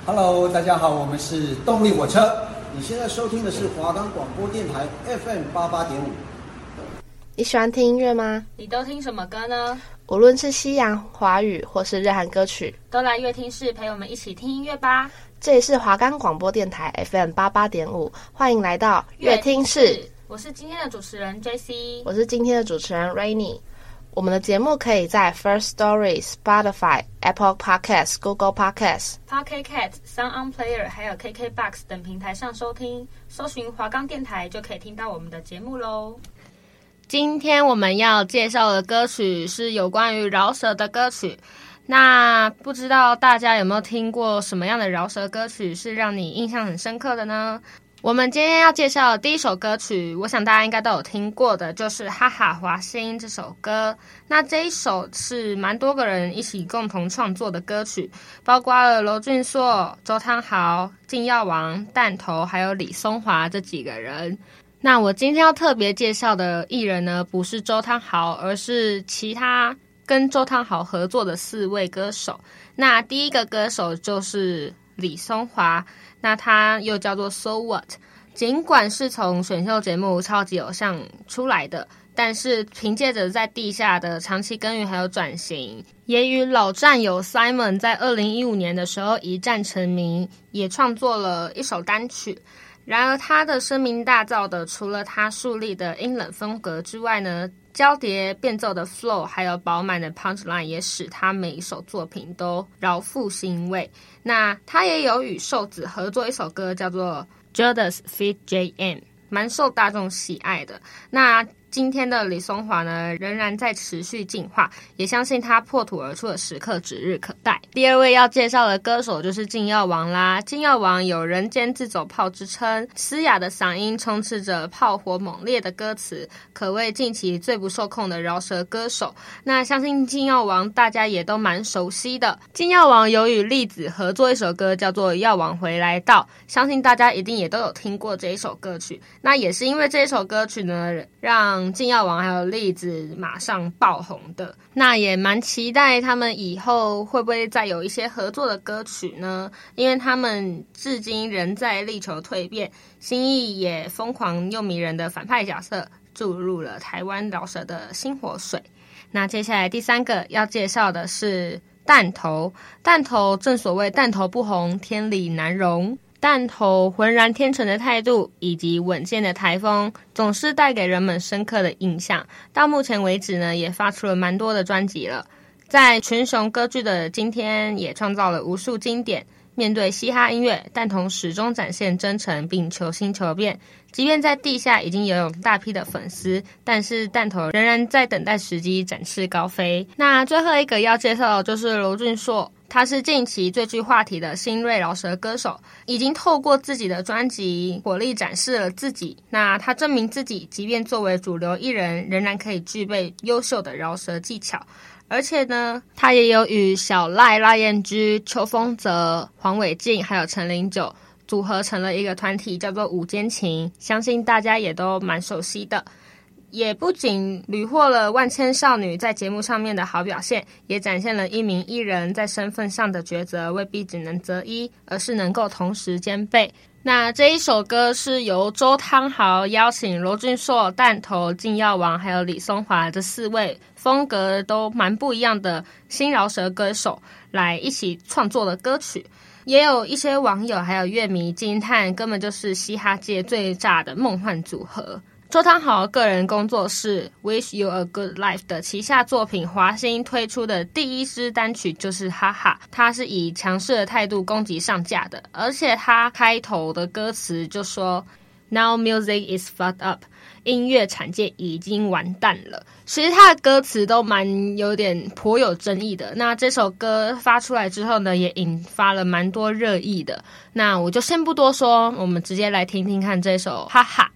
Hello， 大家好，我們是動力火車。你現在收聽的是華岡廣播電台 FM88.5。 你喜歡聽音樂嗎？ 你都聽什麼歌呢？ 無論是西洋、華語或是日韓歌曲， 都來樂聽室陪我們一起聽音樂吧。 這裡是華岡廣播電台 FM88.5，歡迎來到樂聽室。 我是今天的主持人 JC， 我是今天的主持人 Rainy。我們的節目可以在 First Story、Spotify、Apple Podcasts、Google Podcasts、Pocket Cast、Sound On Player 還有 KKBOX 等平台上收聽，搜尋華岡電台就可以聽到我們的節目嘍。今天我們要介紹的歌曲是有關於饒舌的歌曲。那不知道大家有沒有聽過什麼樣的饒舌歌曲是讓你印象很深刻的呢？我們今天要介紹的第一首歌曲，我想大家應該都有聽過的，就是哈哈華星這首歌。那這一首是蠻多個人一起共同創作的歌曲，包括了婁峻碩、周湯豪、金耀王、彈頭還有李松華這幾個人。那我今天要特別介紹的藝人呢，不是周湯豪，而是其他跟周湯豪合作的4位歌手。那第一個歌手就是李松華，那他又叫做 So What。 儘管是從選秀節目超級偶像出來的，但是憑借着在地下的長期耕耘還有轉型，也與老戰友 Simon 在2015年的時候一戰成名，也創作了一首單曲。然而他的聲名大噪的，除了他樹立的陰冷風格之外呢，交疊變奏的 flow 還有飽滿的 punchline 也使他每一首作品都饒富興味。那他也有與瘦子合作一首歌叫做 Judas feat. JM， 蠻受大眾喜愛的。那今天的李松華呢，仍然在持續進化，也相信他破土而出的時刻指日可待。第二位要介紹的歌手就是金耀王啦。金耀王有人间自走炮之稱，嘶啞的嗓音充斥着炮火猛烈的歌詞，可謂近期最不受控的饒舌歌手。那相信金耀王大家也都蠻熟悉的。金耀王有與栗子合作一首歌叫做《耀王回來到》，相信大家一定也都有聽過這一首歌曲。那也是因為這一首歌曲呢，讓金耀王還有栗子馬上爆紅的。那也蠻期待他們以後會不會再有一些合作的歌曲呢？因為他們至今仍在力求蛻變，新意也瘋狂又迷人的反派角色注入了台灣饒舌的新活水。那接下來第三個要介紹的是彈頭。彈頭正所謂彈頭不紅，天理難容。彈頭渾然天成的態度以及穩健的台風，總是帶給人們深刻的印象。到目前為止呢，也發出了蠻多的專輯了。在群雄割據的今天，也創造了無數經典。面對嘻哈音樂，彈頭始終展現真誠並求新求變。即便在地下已經擁有大批的粉絲，但是彈頭仍然在等待時機展翅高飛。那最後一個要介紹的就是婁峻碩，他是近期最具話題的新銳饒舌歌手，已經透過自己的專輯火力展示了自己。那他證明自己，即便作為主流藝人，仍然可以具備優秀的饒舌技巧。而且呢，他也有與小賴、賴彥居、邱鋒澤、黃偉晉還有陳零九組合成了一個團體，叫做五間情，相信大家也都蠻熟悉的。也不僅屢獲了萬千少女在節目上面的好表現，也展現了一名藝人在身份上的抉擇未必只能擇一，而是能夠同時兼備。那這一首歌是由周湯豪邀請婁峻碩、彈頭、金耀王還有李松華這4位風格都蠻不一樣的新饒舌歌手來一起創作的歌曲。也有一些網友還有樂迷驚嘆，根本就是嘻哈界最炸的夢幻組合。周湯豪個人工作室 Wish You a Good Life 的旗下作品華星推出的第一支單曲就是哈哈，他是以強勢的態度攻擊上架的，而且他開頭的歌詞就說 Now music is fucked up， 音樂產界已經完蛋了。其實他的歌詞都蠻有點頗有爭議的。那這首歌發出來之後呢，也引發了蠻多熱議的。那我就先不多說，我們直接來聽聽看這首哈哈。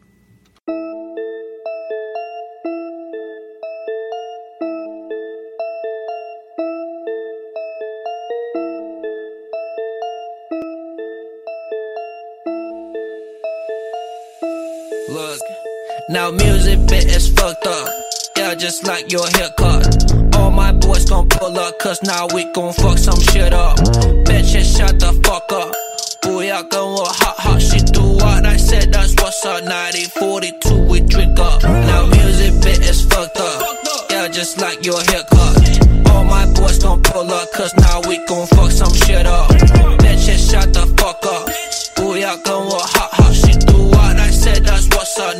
Look, now music bit is fucked up. Yeah, just like your haircut. All my boys gon' pull up, cause now we gon' fuck some shit up. Bitches shut the fuck up. cause now we gon' fuck some shit up. Bitch, shut the fuck up. 不要跟我好好 She do what I said, that's what's up.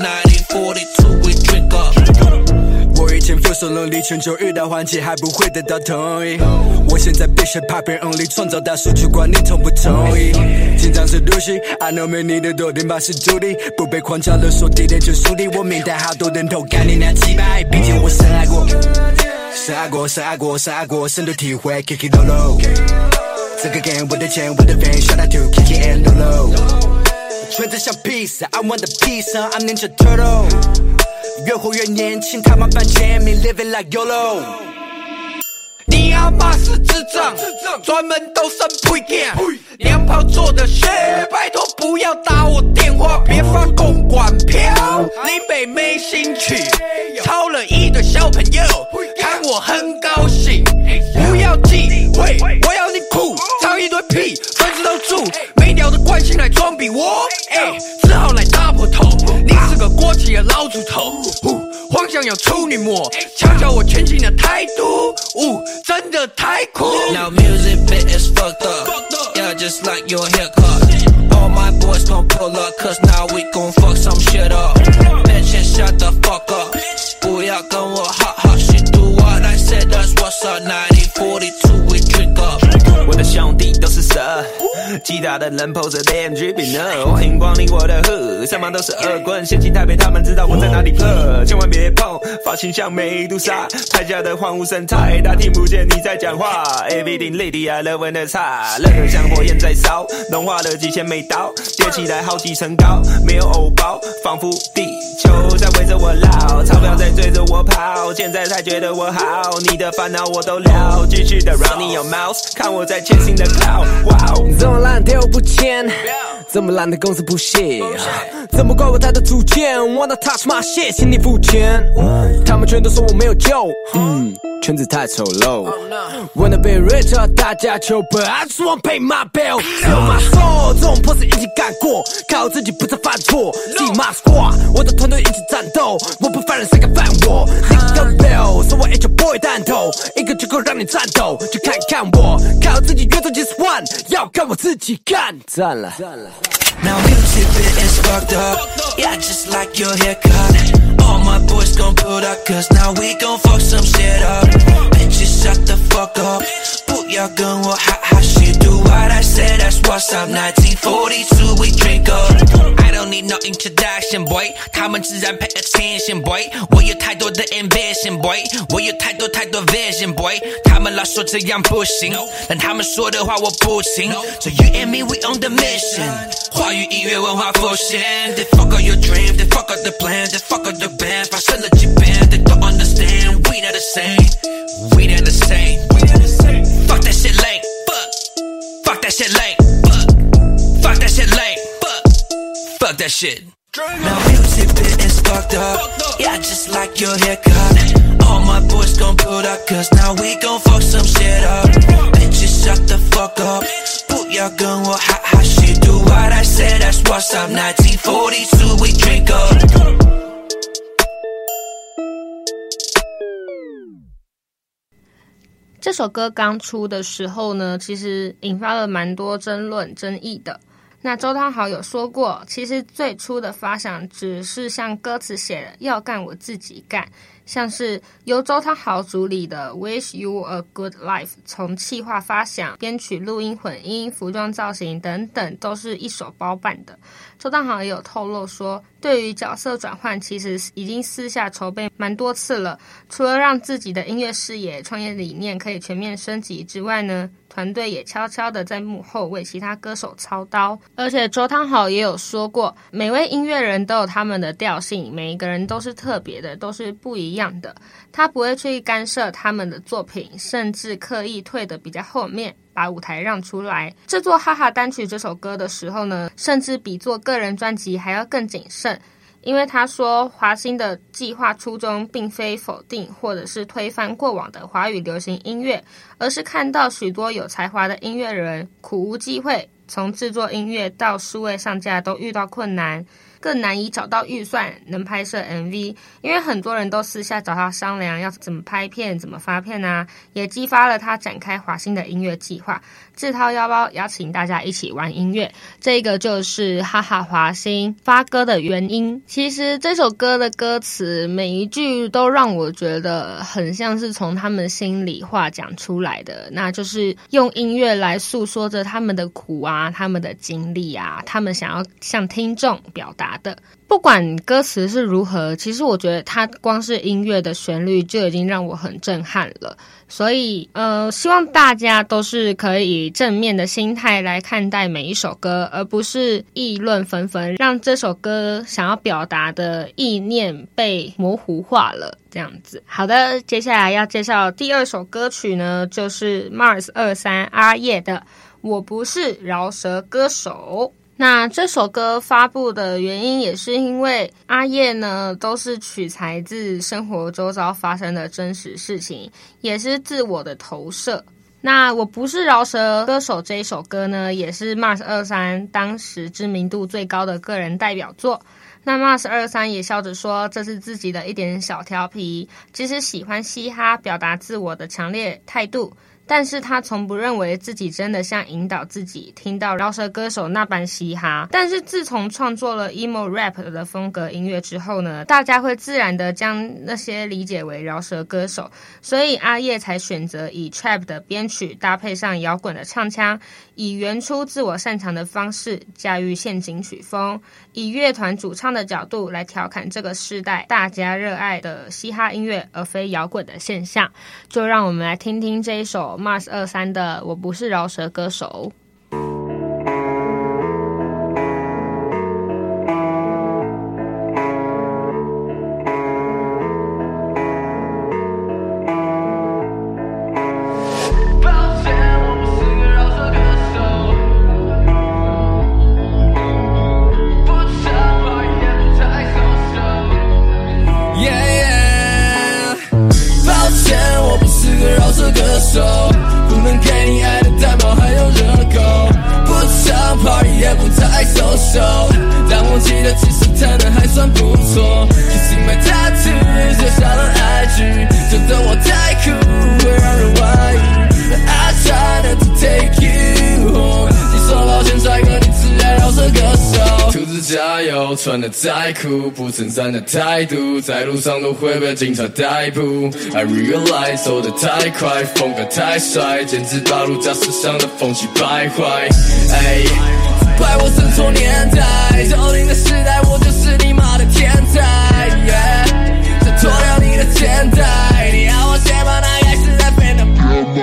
1942 we drink up. 我以前 feel 手能力全球遇到换气还不會得到同意，我現在必須 popping only 創造大數據，管你同不同意。緊張是入戲 I know 沒你的多點把持住地，不被框架勒索地點就樹地，我明白好多人都幹你娘雞掰，畢竟我深愛過，深愛過，深愛過，深愛過，深度體會 Kiki Lolo。這個 game 我的錢我的 fame shout out to Kiki and Lolo。圈子像披薩 I want the pizza I'm Ninja Turtle。越活越年輕，他媽半簽名 living like YOLO。 你阿媽是智障，專門都生屁囝，娘炮做的血，拜託不要打我電話，別發公關票。林北沒興趣，超了一堆小朋友，看我很高興。不要忌諱，我要你酷，唱一堆屁，粉絲都住，沒屌的慣性來裝逼我，只好來大破頭。你是個過氣的老豬頭，幻想要處女膜，瞧瞧我全新的態度，真的太酷。Now music bit is fucked up, yeah, just like your haircut. All my boys gon' pull up, cause now we gon' fuck some shit up. Bitch, shut the fuck up. 不要跟我好好 She do what I said, that's what's up. 1942 we drink up. 我的兄弟都是蛇，其他的人 pose 臉具比呢。歡迎光臨我的 hood， 上方都是惡棍，嫌棄台北他們知道我在哪裡 plug， 千萬別碰，髮型像美杜莎，台下的荒蕪生態，他聽不見你在講話。Everything lady 啊，熱溫的茶，熱得像火焰在燒，融化了幾千枚刀，疊起來好幾層高，沒有偶包，仿佛地球在圍着我繞，鈔票在追着我跑，現在才覺得我好，你的煩惱我都了，繼續的 running your mouth， 看我在前行的 cloud， 哇！ 這麼爛的我不簽，這麼爛的公司不屑，這麼怪我才的主見 ，Wanna touch my shit， 請你付錢，他們全都說我沒有救，圈子太醜陋 ，Wanna be rich， 大家求本 ，I just wanna pay my bill，Feel my soul， 這種破事已經幹過，靠自己不再犯錯 ，See my squad， 我的團隊一起戰鬥，我不犯人誰敢犯我 ，Nigga Bill， 說我 H boy 彈頭，一個就夠讓你顫抖，就看看我，靠自己越做just one， 要看我自己幹，讚了。 Now music bit is fucked up, yeah, just like your haircut. All my boys gon' pull up, cause now we gon' fuck some shit up. Bitches shut the fuck up, 不要跟我哈哈 She do what I said, that's what's up. 1942 we drink up. I don't need no introduction, boy. 他們自然 pay attention, boy. 我有太多的 ambition, boy. 我有太多 vision, boy. 他們老說這樣不行，但他們說的話我不聽。So you and me, we on the mission. 華語音樂文化復興 They fuck up your dream, they fuck up the plan, they fuck up the band. 發生了幾遍 They don't understand, we not the same, we not the same. Fuck that shit lame, fuck that shit lame, fuck that shit lame, fuck that shit. Now music bit is fucked up, yeah, just like your haircut. All my boys gon' pull up, cause now we gon' fuck some shit up. Bitches shut the fuck up, 不要跟我哈哈 She do what I said, that's what's up. 1942 we drink up. 这首歌刚出的時候呢，其實引發了蠻多爭論爭議的。那周湯豪有說過，其實最初的發想只是像歌詞寫的要幹我自己幹，像是由周湯豪主理的 Wish You a Good Life， 從企劃發想、編曲、錄音、混音、服裝造型等等都是一手包辦的。周湯豪也有透露說，對於角色轉換其實已經私下籌備蠻多次了，除了讓自己的音樂視野、創業理念可以全面升級之外呢，團隊也悄悄的在幕後為其他歌手操刀。而且周湯豪也有說過，每位音樂人都有他們的調性，每一個人都是特別的，都是不一樣的。他不會去干涉他們的作品，甚至刻意退得比較後面，把舞台讓出來。製作哈哈單曲這首歌的時候呢，甚至比做個人專輯還要更謹慎。因為他說華星的計劃初衷並非否定或者是推翻過往的華語流行音樂，而是看到許多有才華的音樂人苦無機會，從製作音樂到數位上架都遇到困難， 更難以找到預算能拍攝 MV， 因為很多人都私下找他商量要怎麼拍片、怎麼發片啊，也激發了他展開華星的音樂計劃，自掏腰包邀請大家一起玩音樂。這個就是哈哈華星發歌的原因。其實這首歌的歌詞每一句都讓我覺得很像是從他們心裡話講出來的，那就是用音樂來訴說着他們的苦啊，他們的經歷啊，他們想要向聽眾表達的。不管歌詞是如何，其實我覺得它光是音樂的旋律就已經讓我很震撼了。所以希望大家都是可以正面的心態来看待每一首歌，而不是議論紛紛，讓這首歌想要表達的意念被模糊化了這樣子。好的，接下來要介紹第二首歌曲呢，就是 Mars 23阿葉的《我不是饒舌歌手》。那這首歌發布的原因也是因為阿葉呢都是取材自生活周遭發生的真實事情，也是自我的投射。那我不是饒舌歌手這一首歌呢，也是 Mars 23當時知名度最高的個人代表作。那 Mars 23也笑着說，这是自己的一點小調皮，其實喜歡嘻哈，表達自我的強烈態度。但是他從不認為自己真的像引導自己聽到饒舌歌手那般嘻哈。但是自從創作了 emo rap 的風格音樂之後呢，大家會自然的將那些理解為饒舌歌手，所以阿葉才選擇以 trap 的編曲搭配上搖滾的唱腔，以原初自我擅長的方式駕馭陷阱曲風，以樂團主唱的角度來調侃這個世代大家熱愛的嘻哈音樂而非搖滾的現象。就讓我們來聽聽這一首Mars 23的《我不是饒舌歌手》。 不能給你愛的蛋堡還有熱狗，不常 party 也不太 social， 但我記得其實談的還算不錯。Kissing my tattoo 寫下了 IG， 覺得我太酷會讓人懷疑。I try not to take you home， 你說抱歉帥哥，你只愛饒舌歌手。兔子加油，穿得再酷，不襯衫的態度，在路上都會被警察逮捕。I realize 走得太快，風格太帥，簡直把路駕駛上的風氣敗壞。怪我生錯年代，90的時代，我就是你媽的天才。想脫掉你的肩帶，你要我先把那蓋世太飛的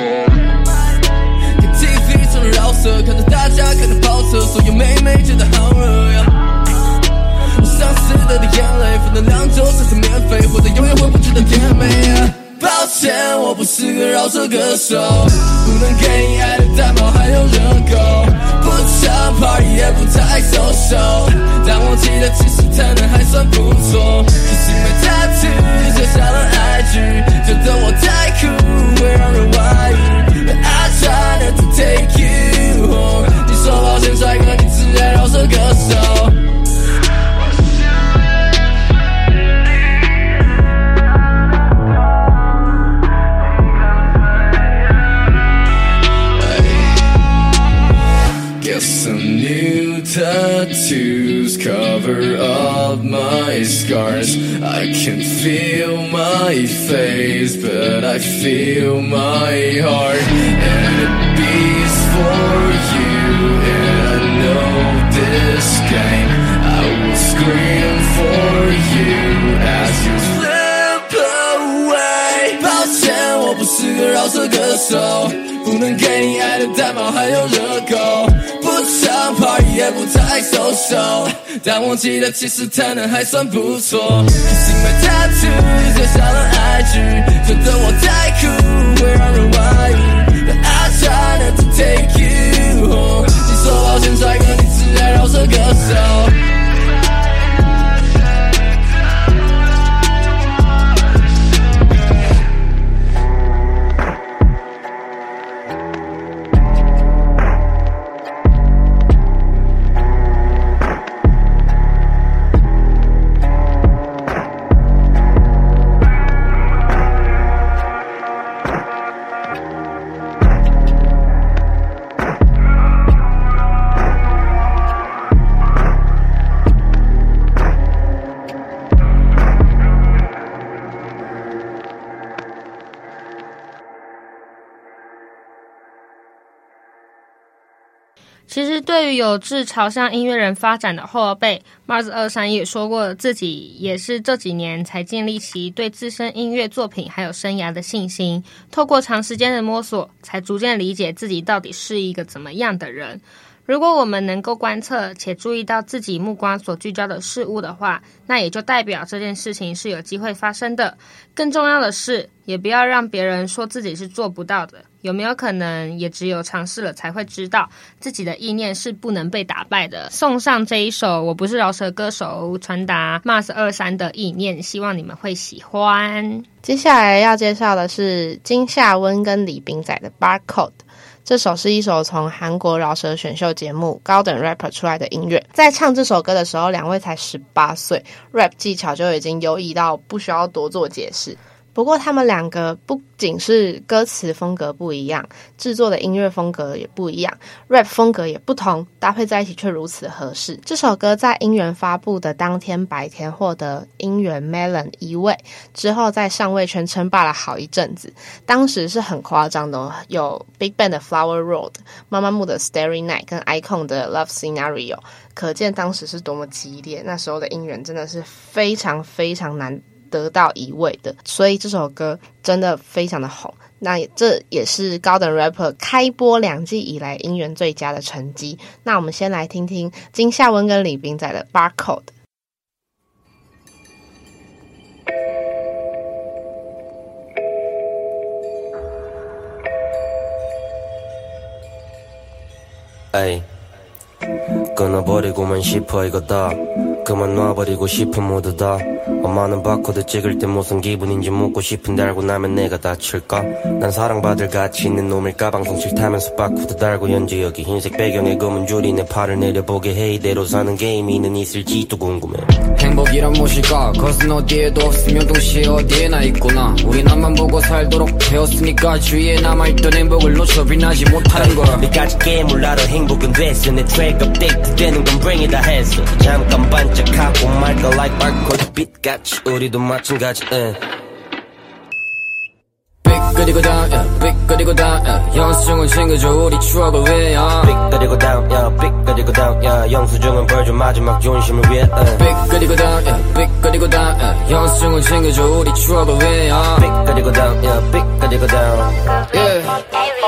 看 TV 中的饒舌，看着大家跟着跑車，所有妹妹覺得好熱呀。我想死的眼淚，負能量就算是免費，活得永遠回不去的甜美啊。抱歉，我不是個饒舌歌手，不能給你愛的蛋堡還有熱狗，不常 party 也不太 social， 但我記得其實談的還算不錯。Kissing my tattoo 寫下了 IG， 覺得我太酷會讓人懷疑。I try not to take you home， 你說抱歉帥哥，你只愛饒舌歌手。Some new tattoos cover up my scars. I can feel my face, but I feel my heart. And it beats for you, and I know this game. I will scream for you as you slip away. 抱歉，我不是個饒舌歌手，不能給你愛的蛋堡還有熱狗，不常 party 也不太 social， 但我記得其實談的還算不錯。Kissing my tattoo 寫下了 IG， 覺得我太酷會讓人懷疑。I try not to take you home， 你說抱歉帥哥，你只愛饒舌歌手。 對於有志朝向音樂人發展的後輩 Mars23也說過，自己也是這幾年才建立起對自身音樂作品還有生涯的信心，透過長時間的摸索，才逐漸理解自己到底是一個怎麼樣的人。如果我們能夠觀測且注意到自己目光所聚焦的事物的話，那也就代表這件事情是有機會發生的。更重要的是，也不要讓別人說自己是做不到的。有沒有可能，也只有嘗試了才會知道，自己的意念是不能被打敗的。送上這一首我不是饒舌歌手，傳達 Mars23的意念，希望你們會喜歡。 接下來要介紹的是金夏溫跟李秉宰的 Barcode。这首是一首從韓國饒舌選秀節目高等 rapper 出來的音樂。在唱這首歌的時候，兩位才18歲 ，rap 技巧就已經優異到不需要多做解釋。不過他們兩個不僅是歌詞風格不一樣，制作的音樂風格也不一樣， rap 風格也不同，搭配在一起卻如此合適。這首歌在音源發布的當天白天獲得音源 Melon 1位，之後在上位圈稱霸了好一陣子。當時是很誇張的哦，有 BigBang 的 Flower Road、媽媽木的 Starry Night 跟 iKON 的 Love Scenario， 可見當時是多麼激烈。那時候的音源真的是非常非常難得到1位的，所以這首歌真的非常的紅。那這也是高等 rapper 開播2季以來音源最佳的成績。那我們先來聽聽金夏溫跟李秉宰的 Barcode。 에이 끊어버리고만 싶어 이거 다 그만 놔버리고 싶은 모두 다 엄마는 바코드 찍을 때 무슨 기분인지 묻고 싶은데 알고 나면 내가 다칠까 난 사랑받을 가치 있는 놈일까 방송 싫다면서 바코드 달고 연지 여기 흰색 배경에 검은 줄이 내 팔을 내려보게 해 이대로 사는 게임이는 있을지도 궁금해 행복이란 무엇일까 그것은 어디에도 없으며 동시에 어디에나 있구나 우리 나만 보고 살도록 되었으니까 주위에 남아있던 행복을 놓쳐 빛나지 못하는 걸 내까지 깨물라도 행복은 됐어 내 트랙 업데이트 되는 건 bring it 했어 잠깐 반짝하고 말까 like barcode 빛같이 우리도 마찬가지 삐끗이고 down 삐끗이고 down 영수증은 챙겨줘 우리 추억을 위해 삐끗이고 down 삐끗이고 down 영수증은 벌줘 마지막 존심을 위해 삐끗이고 down 삐끗이고 down 영수증은 챙겨줘 우리 추억을 위해 삐끗이고 down 삐끗이고 down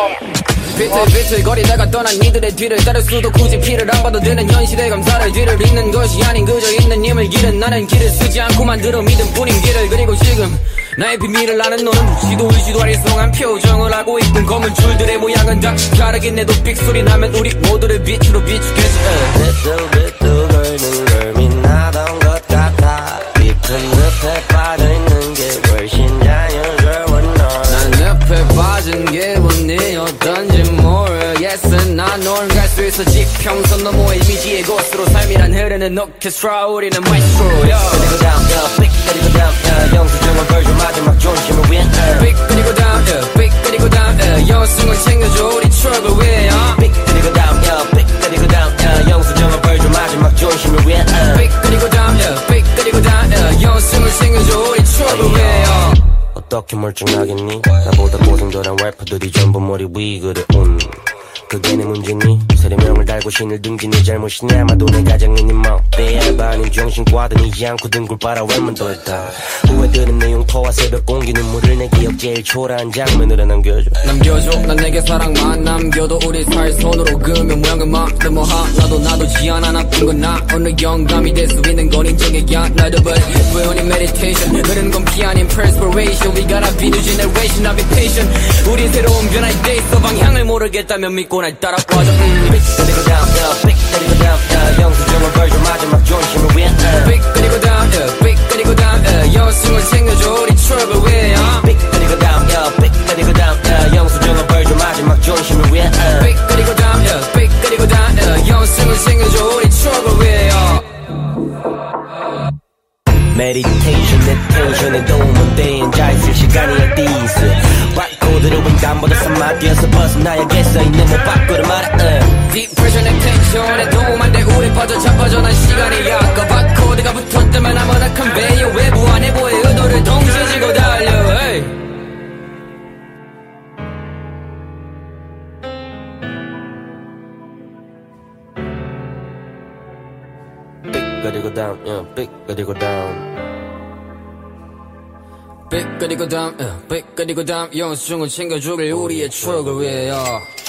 비틀비틀거리다가 떠난 이들의 뒤를 따를 수도 굳이 피를 안 봐도 되는 현실의 감사를 뒤를 잇는 것이 아닌 그저 있는 힘을 기른 나는 길을 쓰지 않고 만들어 믿음 뿐인 길을 그리고 지금 나의 비밀을 아는 너는 묻지도 울지도 아리송한 표정을 하고 있군 검은 줄들의 모양은 다 다르긴 해도 삑소리 나면 우리 모두를 빛으로 비추겠지 비뚤비뚤 걸는 걸 빛나던 것 같아 깊은 늪에 빠져있는 게 훨씬 자연스러워 난 늪에 빠진 게 원이었던지 모르겠어 난 널 갈 수 있어 지평선 너머의 이미지의 곳으로 삶이란 흐르는 오케스트라 우리는 마이스트로 삐끗이고 down 삐끗이고 down 영수증은 벌줘 마지막 존심을 위해 삐끗이고 down 삐끗이고 down 영수증은 챙겨줘 우리 추억을 위해 삐끗이고 down 삐끗이고 down 영수증은 벌줘 마지막 존심을 위해 삐끗이고 down 삐끗이고 down 영수증을 챙겨줘 우리 추억을 위해 어떻게 멀쩡하겠니 나보다 고생들한 래퍼들이 전부 머리 위 그래 그게 내 문제니 세례명을 달고 신을 둥긴 네 잘못이니 아마도 내 가정이니 뭐 대알바 아닌 정신과 드니지 않고 등굴 빨아 웬만 더했다 후회되는 내용토와 새벽 공기 눈물을 내 기억 제일 초라한 장면으로 남겨줘 난 내게 사랑만 남겨도 우리 살 손으로 그으면 모양은 마음 뭐 하나도 지 않아 나쁜 건 나 어느 영감이 될 수 있는 건 인정해야 나도 but we're on meditation 흐르는 건 피 아닌 perspiration we gotta be new generation I'll be patient 우린 새로운 변화에 대해서 방향을 모르겠다면 믿고 날 따라와줘 삐끗이고 down 삐끗이고 down 영수증은 벌줘 마지막 존심을 위해 삐끗이고 down 삐끗이고 down 영수증을 챙겨줘 우리 추억을 위해 삐끗이고 down 삐끗이고 down 영수증은 벌줘 마지막 존심을 위해 삐끗이고 down 삐끗이고 down 영수증을 챙겨줘 우리 추억을 위해 메디테이션 내 텐션에 도움은 돼 앉아있을 시간이 어디있어 바코드로 인간보다 산마디어서 벗어나야겠어 있는 못 바꾸려 말해 Deep pressure 내 텐션에 도움 안 돼 우리 빠져 자빠져 난 시간이 약가 바코드가 붙었다면 아무나 컨베이어 외부 안에 보의 의도를 동시에 지고 달려 hey. 그리고 down, yeah, 빅 그리고 down. 빅 그리고 다음 빅 그리고 다음 영수증을 챙겨주길 우리의 추억을 위하여.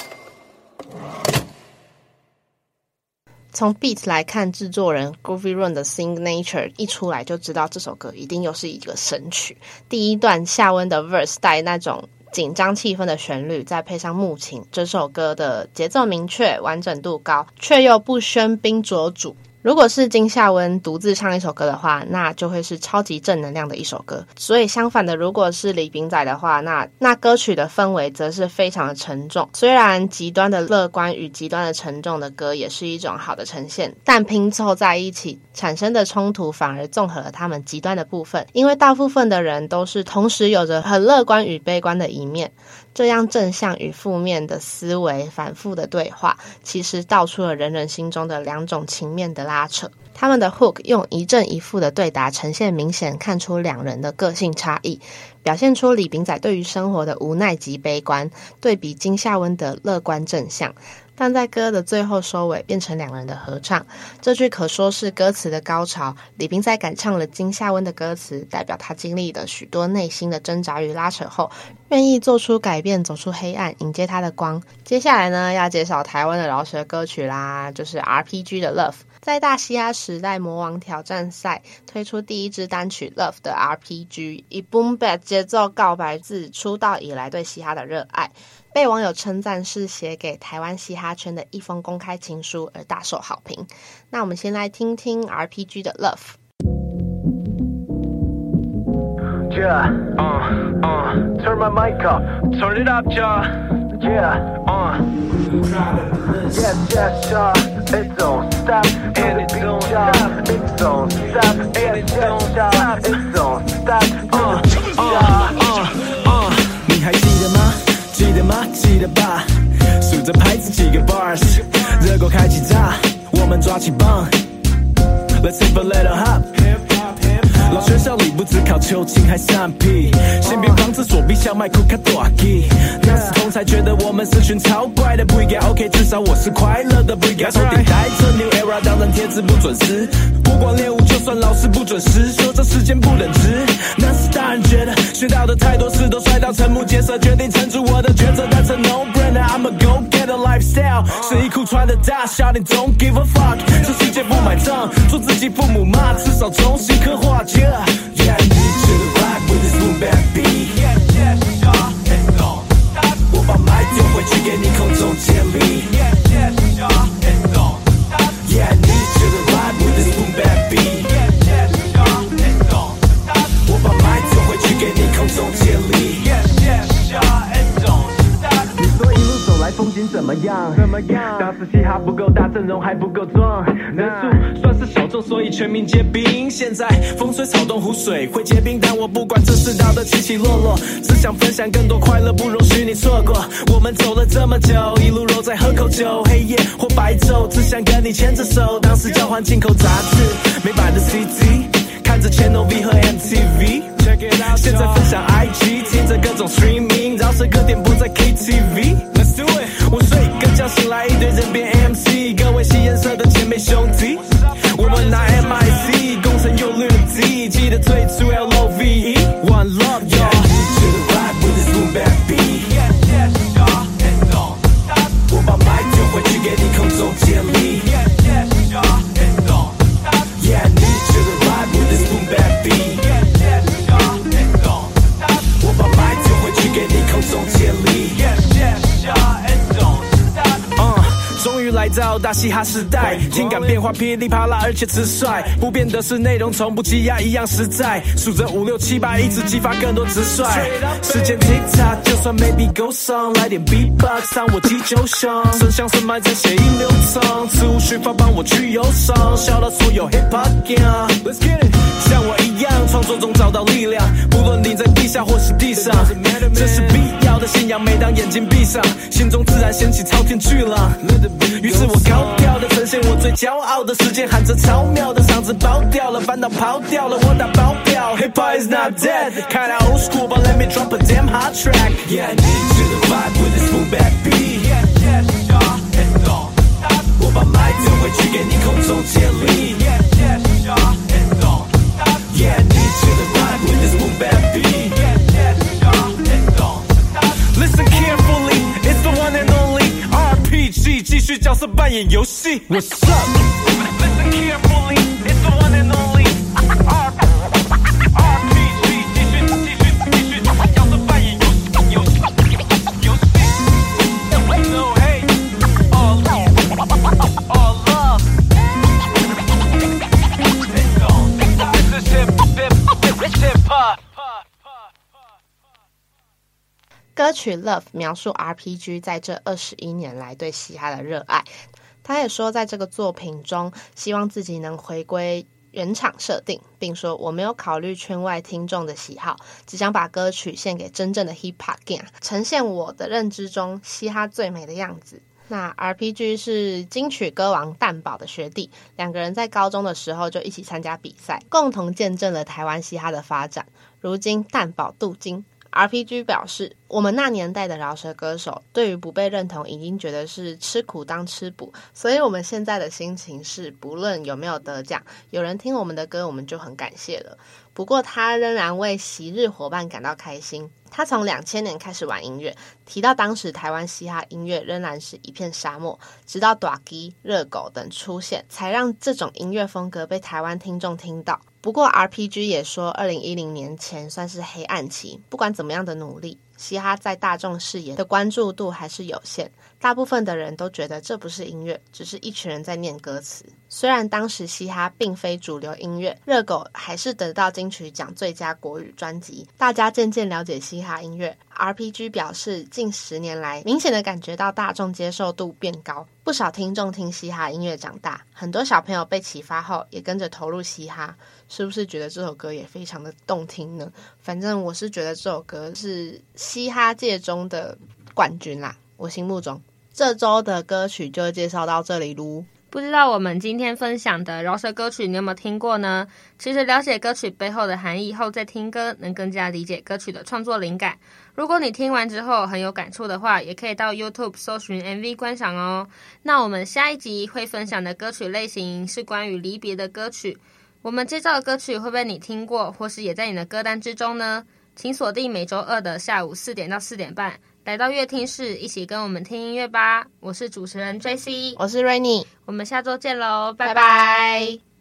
从 beat 来看，制作人 Groovy Run 的 Signature 一出来就知道这首歌一定又是一个神曲。第一段夏温的 verse 带那种緊張氣氛的旋律，再配上木琴，這首歌的節奏明確，完整度高，卻又不喧賓奪主。如果是金夏溫獨自唱一首歌的話，那就會是超級正能量的一首歌。所以相反的，如果是李秉宰的話，那歌曲的氛圍則是非常的沉重。雖然極端的樂觀與極端的沉重的歌也是一種好的呈現，但拼湊在一起產生的衝突反而綜合了他們極端的部分。因為大部分的人都是同時有着很樂觀與悲觀的一面，這樣正向與負面的思維反覆的對話，其實道出了人人心中的兩種情面的拉扯。他們的 hook 用一正一負的對答呈現，明顯看出兩人的個性差異，表現出李秉宰對於生活的無奈及悲觀，對比金夏溫的樂觀正向。但在歌的最後收尾變成兩人的合唱，這句可說是歌詞的高潮。李秉宰敢唱了金夏溫的歌詞，代表他經歷了許多內心的掙扎與拉扯後，願意做出改變，走出黑暗，迎接他的光。接下來呢，要介紹台灣的饒舌歌曲啦，就是 RPG 的 Love。在大嘻哈時代魔王挑戰賽推出第一支單曲 Love 的 RPG， 以 Boom Bap 節奏告白自出道以來對嘻哈的熱愛，被網友稱讚是寫給台灣嘻哈圈的一封公開情書，而大受好評。那我們先來聽聽 RPG 的 Love。 Yeah, turn my mic up, turn it up, yeah, yes, it don't stop, and it don't stop, it don't stop, yes, it don't stop, 你還記得嗎？記得嗎？記得吧？數着拍子幾個 bars， 熱狗開啟炸，我們抓起棒 ，Let's hip a little hop。老學校裡不只考秋青還散屁，先別防着左臂小麥庫卡大吉，那時同才覺得我們是群超怪的，不應該 OK， 至少我是快樂的，不應該手電帶着 New Era， 當然貼紙不準時，不光練舞就算老師不準時，說這時間不等值，那時大人覺得學到的太多事都摔到瞠目結舌，決定撐住我的抉擇，但是 no brainer I'm a go get a lifestyle， 睡衣褲穿的大小你 don't give a fuck， 這世界不買賬，做自己父母嘛，至少重新刻畫着。Yeah, I need you to rock with this boom bap beat. Yeah, it don't stop. 我把麥丟回去給你空中接力。Yeah, it don't stop. Yeah, I need you to rock with this boom bap beat. Yeah, it don't stop. 我把麥丟回去給你空中接力。Yeah, it don't stop. 你說一路走來風景怎麼樣？當時嘻哈不夠大，陣容還不夠壯，人數算是小眾，所以全民皆兵。現在風吹草動湖水會結冰，但我不管這世道的起起落落，只想分享更多快樂，不容許你錯過。我們走了這麼久，一路揉在喝口酒，黑夜或白晝，只想跟你牽着手。當時交換進口雜誌，美版的 CD， 看着 Channel V 和 MTV， 現在分享 IG， 聽着各種 streaming， 饒舌歌點播在 KTV。Let's do it。我睡個覺醒來一堆人變 MC， 各位吸顏色的姐妹兄弟，我們拿 MIC， 攻城又略地，記得退出 LOVE One Love y'all。To the vibe with this boom bap beat。it don't stop。我把麥丟回去給你空中接力。it don't stop。Yeah, I need you to vibe with this boom bap beat。it don't stop。我把麥丟回去給你空中接力。it don't stop。終於來到大嘻哈時代，情感變化噼里啪啦，而且直率。不變的是內容，從不積壓，一樣實在。數着5、6、7、8，一直激發更多直率。時間 tick tock， 就算 maybe go song， 來點 beatbox， 讓我擊就凶。聲響深埋在血液流通，此無虛發幫我去憂傷，笑到所有 hip hop gang。Let's get it， 像我一樣，創作中找到力量，不論你在地下或是地上，這是必要的信仰。每當眼睛閉上，心中自然掀起滔天巨浪。於是我高調的呈現我最驕傲的時間，喊着超妙的嗓子爆掉了，煩惱跑掉了，我打包票。Hip hop is not dead， kinda old school but let me drop a damn hot track。 Yeah, I need you to vibe with this boom bap beat。it don't stop。我把麥丟回去給你空中接力。 角色扮演遊戲。What's up？Listen carefully, it's the one and only RPG， 继續，角色扮演遊戲。No hate, all love. This is hip hop。 歌曲《Love》描述 RPG 在這21年來對嘻哈的熱愛。他也說，在這個作品中，希望自己能回歸原廠設定，並說我沒有考慮圈外聽眾的喜好，只想把歌曲獻給真正的 Hip Hop Gang， 呈現我的認知中嘻哈最美的樣子。那 RPG 是金曲歌王蛋堡的學弟，兩個人在高中的時候就一起參加比賽，共同見證了台灣嘻哈的發展。如今蛋堡鍍金。RPG 表示，我們那年代的饒舌歌手對於不被認同已經覺得是吃苦當吃補，所以我們現在的心情是不論有沒有得獎，有人聽我們的歌我們就很感謝了。不過他仍然為昔日夥伴感到開心。他從2000年開始玩音樂，提到當時台灣嘻哈音樂仍然是一片沙漠，直到大支、熱狗等出現，才讓這種音樂風格被台灣聽眾聽到。不過 RPG 也說2010年前算是黑暗期，不管怎麼樣的努力，嘻哈在大眾視野的關注度還是有限，大部分的人都覺得這不是音樂，只是一群人在念歌詞。雖然當時嘻哈並非主流音樂，熱狗還是得到金曲獎最佳國語專輯，大家漸漸了解嘻哈音樂。RPG 表示，近10年來明顯的感覺到大眾接受度變高，不少聽眾聽嘻哈音樂長大，很多小朋友被啟發後也跟着投入嘻哈。是不是覺得這首歌也非常的動聽呢？反正我是覺得這首歌是嘻哈界中的冠軍啦，我心目中。這週的歌曲就介紹到這裡嚕。 不知道我們今天分享的饒舌歌曲你有沒有聽過呢？其實了解歌曲背後的含義後再聽歌，能更加理解歌曲的創作靈感。如果你聽完之後很有感觸的話，也可以到 YouTube 搜尋 MV 觀賞哦。那我們下一集會分享的歌曲類型是關於離別的歌曲。我們介紹的歌曲會不會你聽過，或是也在你的歌單之中呢？請鎖定每週2的下午4點到4點半，來到樂聽室，一起跟我們聽音樂吧。我是主持人 JC， 我是 Rainy， 我們下週見嘍，拜拜。 拜拜。